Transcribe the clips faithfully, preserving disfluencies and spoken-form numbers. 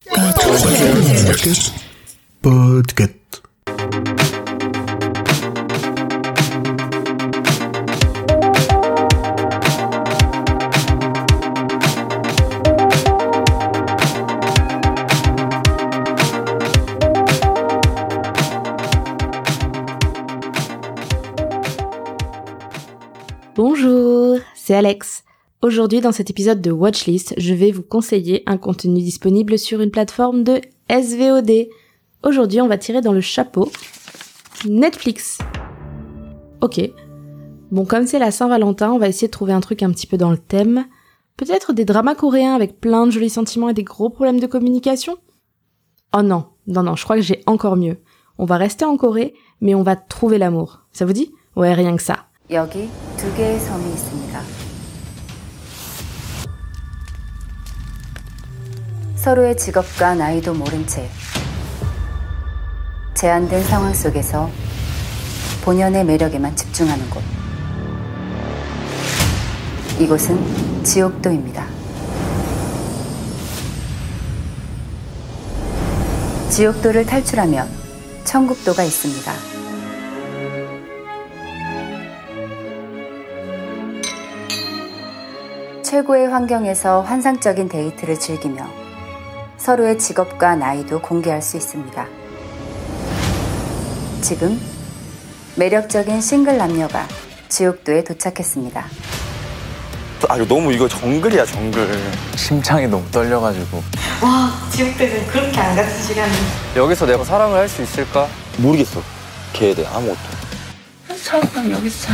Podcast. Podcast. Bonjour, c'est Alex. Aujourd'hui, dans cet épisode de Watchlist, je vais vous conseiller un contenu disponible sur une plateforme de S V O D. Aujourd'hui, on va tirer dans le chapeau Netflix. Ok. Bon, comme c'est la Saint-Valentin, on va essayer de trouver un truc un petit peu dans le thème. Peut-être des dramas coréens avec plein de jolis sentiments et des gros problèmes de communication ? Oh non, non, non, je crois que j'ai encore mieux. On va rester en Corée, mais on va trouver l'amour. Ça vous dit ? Ouais, rien que ça. 여기 두 개의 섬이 있습니다. 서로의 직업과 나이도 모른 채 제한된 상황 속에서 본연의 매력에만 집중하는 곳. 이곳은 지옥도입니다. 지옥도를 탈출하면 천국도가 있습니다. 최고의 환경에서 환상적인 데이트를 즐기며 서로의 직업과 나이도 공개할 수 있습니다. 지금 매력적인 싱글 남녀가 지옥도에 도착했습니다. 아, 이거 너무 이거 정글이야, 정글. 심장이 너무 떨려가지고. 와, 지옥도는 그렇게 안 같은 시간이. 여기서 내가 사랑을 할 수 있을까? 모르겠어. 걔에 대해 아무것도. 처음 여기서 자.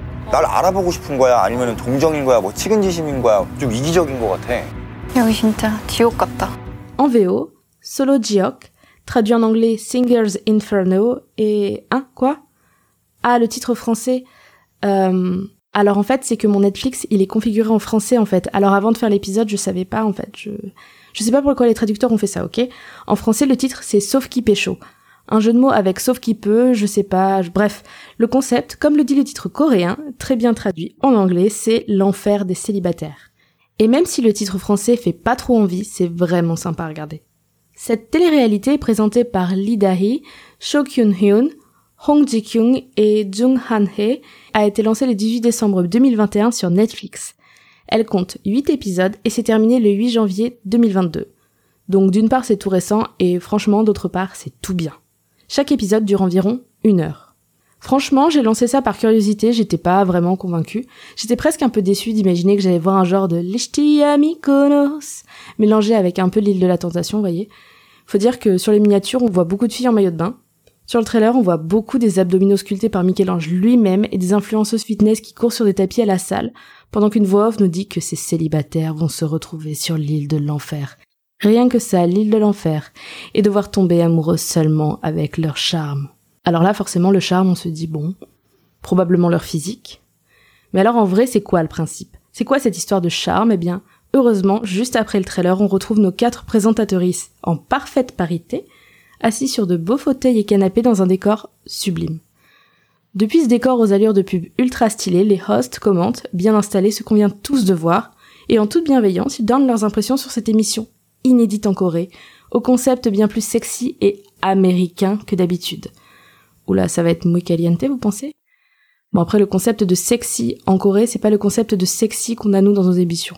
날 알아보고 싶은 거야? 아니면 동정인 거야? 뭐 측은지심인 거야? 좀 이기적인 거 같아. 여기 진짜 지옥 같다. En V O, Solo Jiok, traduit en anglais Singer's Inferno, et... Hein, quoi ? Ah, le titre français. Euh... Alors en fait, c'est que mon Netflix, il est configuré en français en fait. Alors avant de faire l'épisode, je savais pas en fait. Je je sais pas pourquoi les traducteurs ont fait ça, ok ? En français, le titre, c'est Sauf qui pécho. Un jeu de mots avec sauf qui peut, je sais pas, bref. Le concept, comme le dit le titre coréen, très bien traduit en anglais, c'est l'enfer des célibataires. Et même si le titre français fait pas trop envie, c'est vraiment sympa à regarder. Cette télé-réalité est présentée par Lee Da-hee, Cho Kyun-hyun, Hong Ji-kyung et Jung Han-hye, a été lancée le dix-huit décembre deux mille vingt et un sur Netflix. Elle compte huit épisodes et s'est terminée le huit janvier deux mille vingt-deux. Donc d'une part c'est tout récent et franchement d'autre part c'est tout bien. Chaque épisode dure environ une heure. Franchement, j'ai lancé ça par curiosité, j'étais pas vraiment convaincue. J'étais presque un peu déçue d'imaginer que j'allais voir un genre de Lishti Mykonos mélangé avec un peu l'île de la tentation, vous voyez. Faut dire que sur les miniatures, on voit beaucoup de filles en maillot de bain. Sur le trailer, on voit beaucoup des abdominaux sculptés par Michel-Ange lui-même et des influenceuses fitness qui courent sur des tapis à la salle, pendant qu'une voix off nous dit que ces célibataires vont se retrouver sur l'île de l'enfer. Rien que ça, l'île de l'enfer, et devoir tomber amoureux seulement avec leur charme. Alors là, forcément, le charme, on se dit, bon, probablement leur physique. Mais alors, en vrai, c'est quoi le principe ? C'est quoi cette histoire de charme ? Eh bien, heureusement, juste après le trailer, on retrouve nos quatre présentatrices en parfaite parité, assis sur de beaux fauteuils et canapés dans un décor sublime. Depuis ce décor aux allures de pub ultra stylé, les hosts commentent, bien installés, ce qu'on vient tous de voir, et en toute bienveillance, ils donnent leurs impressions sur cette émission, inédite en Corée, au concept bien plus sexy et américain que d'habitude. Oula, ça va être muy caliente, vous pensez ? Bon, après, le concept de sexy en Corée, c'est pas le concept de sexy qu'on a nous dans nos émissions.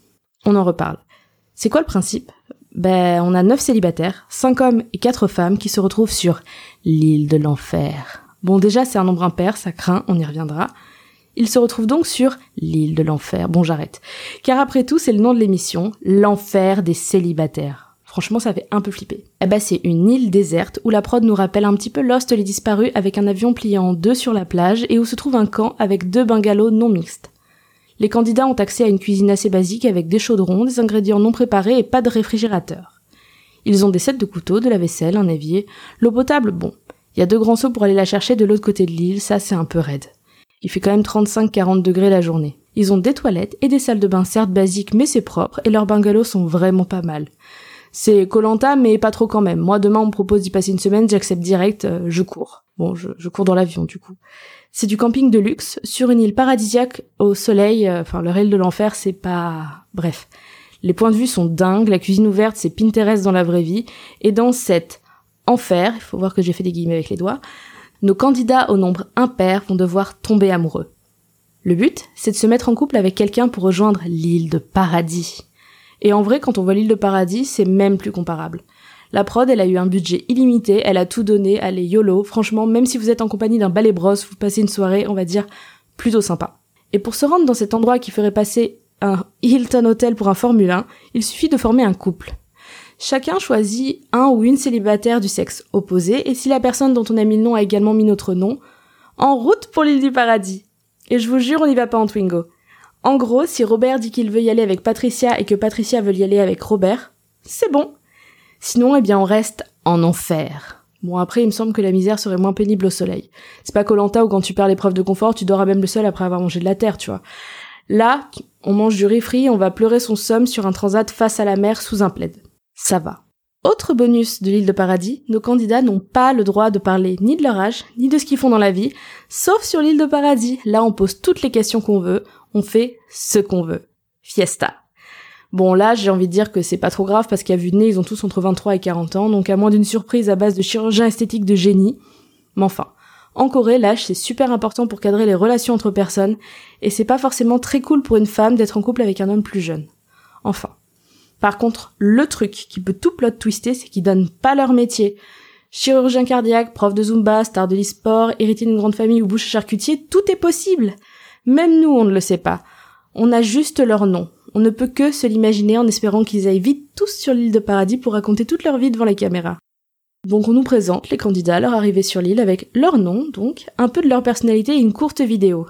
On en reparle. C'est quoi le principe ? Ben, on a neuf célibataires, cinq hommes et quatre femmes qui se retrouvent sur l'île de l'enfer. Bon, déjà, c'est un nombre impair, ça craint, on y reviendra. Ils se retrouvent donc sur l'île de l'enfer. Bon, j'arrête. Car après tout, c'est le nom de l'émission, l'enfer des célibataires. Franchement, ça fait un peu flipper. Eh ben, c'est une île déserte où la prod nous rappelle un petit peu Lost les disparus avec un avion plié en deux sur la plage et où se trouve un camp avec deux bungalows non mixtes. Les candidats ont accès à une cuisine assez basique avec des chaudrons, des ingrédients non préparés et pas de réfrigérateur. Ils ont des sets de couteaux, de la vaisselle, un évier. L'eau potable, bon. Il y a deux grands seaux pour aller la chercher de l'autre côté de l'île, ça c'est un peu raide. Il fait quand même trente-cinq à quarante degrés la journée. Ils ont des toilettes et des salles de bain certes basiques mais c'est propre et leurs bungalows sont vraiment pas mal. C'est Koh-Lanta mais pas trop quand même. Moi demain on me propose d'y passer une semaine, j'accepte direct, euh, je cours. Bon, je, je cours dans l'avion du coup. C'est du camping de luxe sur une île paradisiaque au soleil, euh, enfin leur île de l'enfer c'est pas... Bref. Les points de vue sont dingues, la cuisine ouverte c'est Pinterest dans la vraie vie, et dans cet enfer, il faut voir que j'ai fait des guillemets avec les doigts, nos candidats au nombre impair vont devoir tomber amoureux. Le but, c'est de se mettre en couple avec quelqu'un pour rejoindre l'île de paradis. Et en vrai, quand on voit l'île de paradis, c'est même plus comparable. La prod, elle a eu un budget illimité, elle a tout donné, allez YOLO, franchement, même si vous êtes en compagnie d'un balai brosse, vous passez une soirée, on va dire, plutôt sympa. Et pour se rendre dans cet endroit qui ferait passer un Hilton Hotel pour un Formule un, il suffit de former un couple. Chacun choisit un ou une célibataire du sexe opposé, et si la personne dont on a mis le nom a également mis notre nom, en route pour l'île du paradis. Et je vous jure, on n'y va pas en Twingo. En gros, si Robert dit qu'il veut y aller avec Patricia et que Patricia veut y aller avec Robert, c'est bon. Sinon, eh bien, on reste en enfer. Bon, après, il me semble que la misère serait moins pénible au soleil. C'est pas Koh-Lanta où quand tu perds l'épreuve de confort, tu dors à même le sol après avoir mangé de la terre, tu vois. Là, on mange du riz frit, on va pleurer son somme sur un transat face à la mer sous un plaid. Ça va. Autre bonus de l'île de paradis, nos candidats n'ont pas le droit de parler ni de leur âge, ni de ce qu'ils font dans la vie, sauf sur l'île de paradis. Là, on pose toutes les questions qu'on veut, on fait ce qu'on veut. Fiesta. Bon, là, j'ai envie de dire que c'est pas trop grave parce qu'à vue de nez, ils ont tous entre vingt-trois et quarante ans, donc à moins d'une surprise à base de chirurgien esthétique de génie. Mais enfin, en Corée, l'âge, c'est super important pour cadrer les relations entre personnes, et c'est pas forcément très cool pour une femme d'être en couple avec un homme plus jeune. Enfin. Par contre, le truc qui peut tout plot twister, c'est qu'ils donnent pas leur métier. Chirurgien cardiaque, prof de Zumba, star de l'e-sport, héritier d'une grande famille ou boucher charcutier, tout est possible. Même nous, on ne le sait pas. On a juste leur nom. On ne peut que se l'imaginer en espérant qu'ils aillent vite tous sur l'île de paradis pour raconter toute leur vie devant les caméras. Donc on nous présente les candidats à leur arrivée sur l'île avec leur nom, donc, un peu de leur personnalité et une courte vidéo.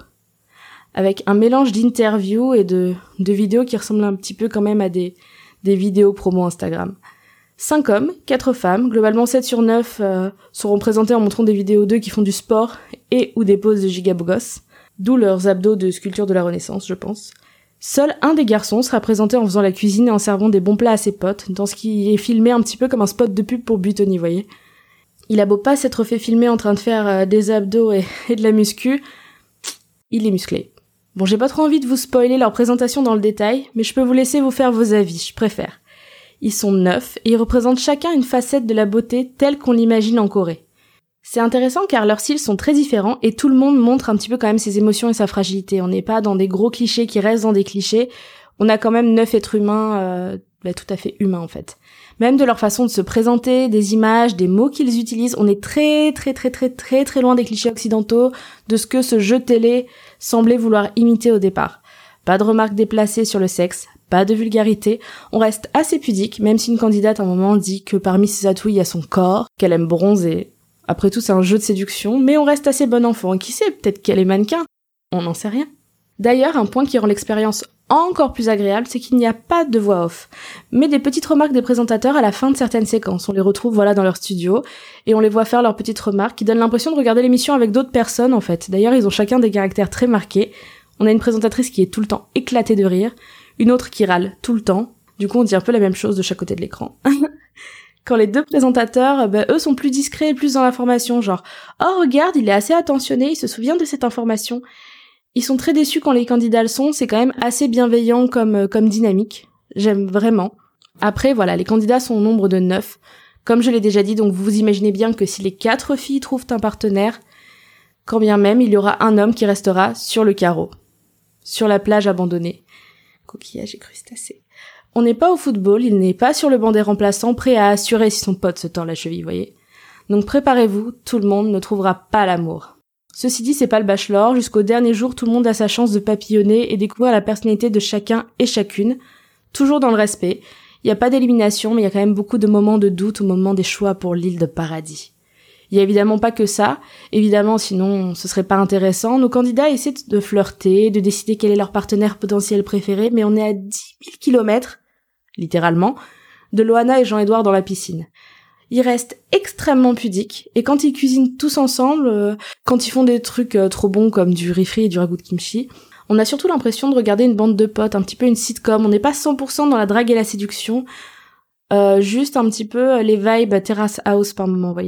Avec un mélange d'interviews et de, de vidéos qui ressemblent un petit peu quand même à des, des vidéos promo Instagram. Cinq hommes, quatre femmes, globalement sept sur neuf euh, seront présentés en montrant des vidéos d'eux qui font du sport et ou des poses de gigabogos, d'où leurs abdos de sculpture de la Renaissance, je pense. Seul un des garçons sera présenté en faisant la cuisine et en servant des bons plats à ses potes, dans ce qui est filmé un petit peu comme un spot de pub pour Buitoni, voyez. Il a beau pas s'être fait filmer en train de faire euh, des abdos et, et de la muscu, il est musclé. Bon, j'ai pas trop envie de vous spoiler leur présentation dans le détail, mais je peux vous laisser vous faire vos avis, je préfère. Ils sont neuf et ils représentent chacun une facette de la beauté telle qu'on l'imagine en Corée. C'est intéressant car leurs styles sont très différents et tout le monde montre un petit peu quand même ses émotions et sa fragilité. On n'est pas dans des gros clichés qui restent dans des clichés. On a quand même neuf êtres humains, euh, bah, tout à fait humains en fait. Même de leur façon de se présenter, des images, des mots qu'ils utilisent, on est très très très très très très loin des clichés occidentaux, de ce que ce jeu télé semblait vouloir imiter au départ. Pas de remarques déplacées sur le sexe, pas de vulgarité, on reste assez pudique, même si une candidate à un moment dit que parmi ses atouts il y a son corps, qu'elle aime bronzer. Après tout, c'est un jeu de séduction, mais on reste assez bon enfant. Et qui sait, peut-être qu'elle est mannequin. On n'en sait rien. D'ailleurs, un point qui rend l'expérience encore plus agréable, c'est qu'il n'y a pas de voix off, mais des petites remarques des présentateurs à la fin de certaines séquences. On les retrouve voilà dans leur studio, et on les voit faire leurs petites remarques qui donnent l'impression de regarder l'émission avec d'autres personnes, en fait. D'ailleurs, ils ont chacun des caractères très marqués. On a une présentatrice qui est tout le temps éclatée de rire, une autre qui râle tout le temps. Du coup, on dit un peu la même chose de chaque côté de l'écran. Quand les deux présentateurs, bah, eux sont plus discrets et plus dans l'information, genre « Oh, regarde, il est assez attentionné, il se souvient de cette information ». Ils sont très déçus quand les candidats le sont, c'est quand même assez bienveillant comme, comme dynamique. J'aime vraiment. Après, voilà, les candidats sont au nombre de neuf. Comme je l'ai déjà dit, donc vous vous imaginez bien que si les quatre filles trouvent un partenaire, quand bien même, il y aura un homme qui restera sur le carreau. Sur la plage abandonnée. Coquillage et crustacés. On n'est pas au football, il n'est pas sur le banc des remplaçants, prêt à assurer si son pote se tord la cheville, voyez. Donc préparez-vous, tout le monde ne trouvera pas l'amour. Ceci dit, c'est pas le bachelor, jusqu'au dernier jour, tout le monde a sa chance de papillonner et découvrir la personnalité de chacun et chacune, toujours dans le respect. Il n'y a pas d'élimination, mais il y a quand même beaucoup de moments de doute au moment des choix pour l'île de paradis. Il y a évidemment pas que ça, évidemment sinon ce serait pas intéressant. Nos candidats essaient de flirter, de décider quel est leur partenaire potentiel préféré, mais on est à dix mille kilomètres, littéralement, de Loana et Jean-Édouard dans la piscine. Ils restent extrêmement pudiques, et quand ils cuisinent tous ensemble, euh, quand ils font des trucs euh, trop bons comme du riz frit et du ragoût de kimchi, on a surtout l'impression de regarder une bande de potes, un petit peu une sitcom. On n'est pas cent pour cent dans la drague et la séduction, euh, juste un petit peu les vibes terrace house par moment, vous voyez.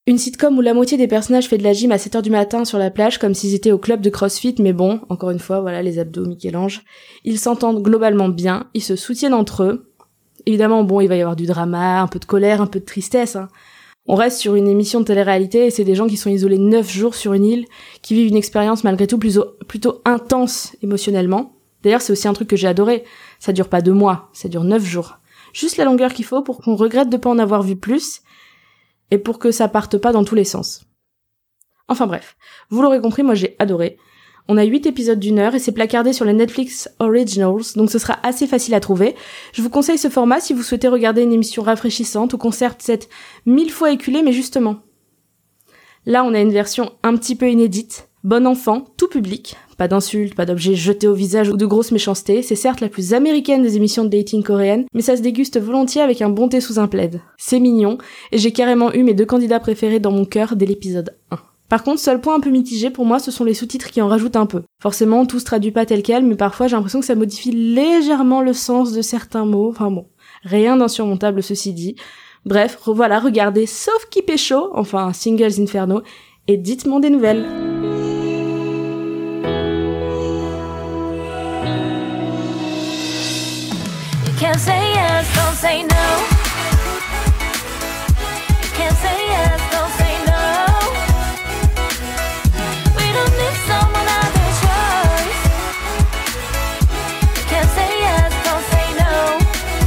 Une sitcom où la moitié des personnages fait de la gym à sept heures du matin sur la plage comme s'ils étaient au club de CrossFit, mais bon, encore une fois, voilà, les abdos Michel-Ange. Ils s'entendent globalement bien, ils se soutiennent entre eux. Évidemment, bon, il va y avoir du drama, un peu de colère, un peu de tristesse, hein. On reste sur une émission de télé-réalité et c'est des gens qui sont isolés neuf jours sur une île, qui vivent une expérience malgré tout plutôt, plutôt intense émotionnellement. D'ailleurs, c'est aussi un truc que j'ai adoré. Ça dure pas deux mois, ça dure neuf jours. Juste la longueur qu'il faut pour qu'on regrette de pas en avoir vu plus, et pour que ça parte pas dans tous les sens. Enfin bref, vous l'aurez compris, moi j'ai adoré. On a huit épisodes d'une heure et c'est placardé sur les Netflix Originals, donc ce sera assez facile à trouver. Je vous conseille ce format si vous souhaitez regarder une émission rafraîchissante ou qu'on certes cette mille fois éculée, mais justement. Là, on a une version un petit peu inédite, bon enfant, tout public, pas d'insultes, pas d'objets jetés au visage ou de grosses méchancetés, c'est certes la plus américaine des émissions de dating coréennes, mais ça se déguste volontiers avec un bon thé sous un plaid. C'est mignon, et j'ai carrément eu mes deux candidats préférés dans mon cœur dès l'épisode un. Par contre, seul point un peu mitigé pour moi, ce sont les sous-titres qui en rajoutent un peu. Forcément, tout se traduit pas tel quel, mais parfois j'ai l'impression que ça modifie légèrement le sens de certains mots, enfin bon, rien d'insurmontable ceci dit. Bref, voilà, regardez, sauf qui pécho, enfin Singles Inferno, et dites-moi des nouvelles. Can't say yes, don't say no. Can't say yes, don't say no. We don't need someone other choice. Can't say yes, don't say no.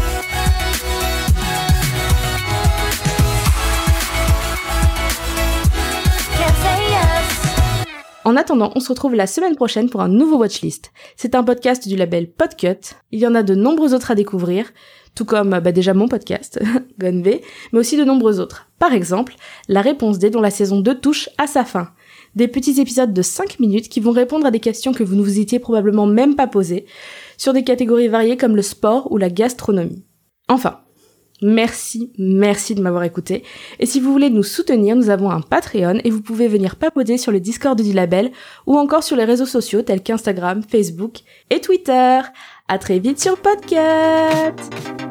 Can't say yes. En attendant, on se retrouve la semaine prochaine pour un nouveau Watchlist. C'est un podcast du label Podcut. Il y en a de nombreux autres à découvrir, tout comme bah, déjà mon podcast, Gone V, mais aussi de nombreux autres. Par exemple, La Réponse D dont la saison deux touche à sa fin. Des petits épisodes de cinq minutes qui vont répondre à des questions que vous ne vous étiez probablement même pas posées, sur des catégories variées comme le sport ou la gastronomie. Enfin, merci, merci de m'avoir écouté. Et si vous voulez nous soutenir, nous avons un Patreon et vous pouvez venir papoter sur le Discord du label ou encore sur les réseaux sociaux tels qu'Instagram, Facebook et Twitter. À très vite sur Podcut!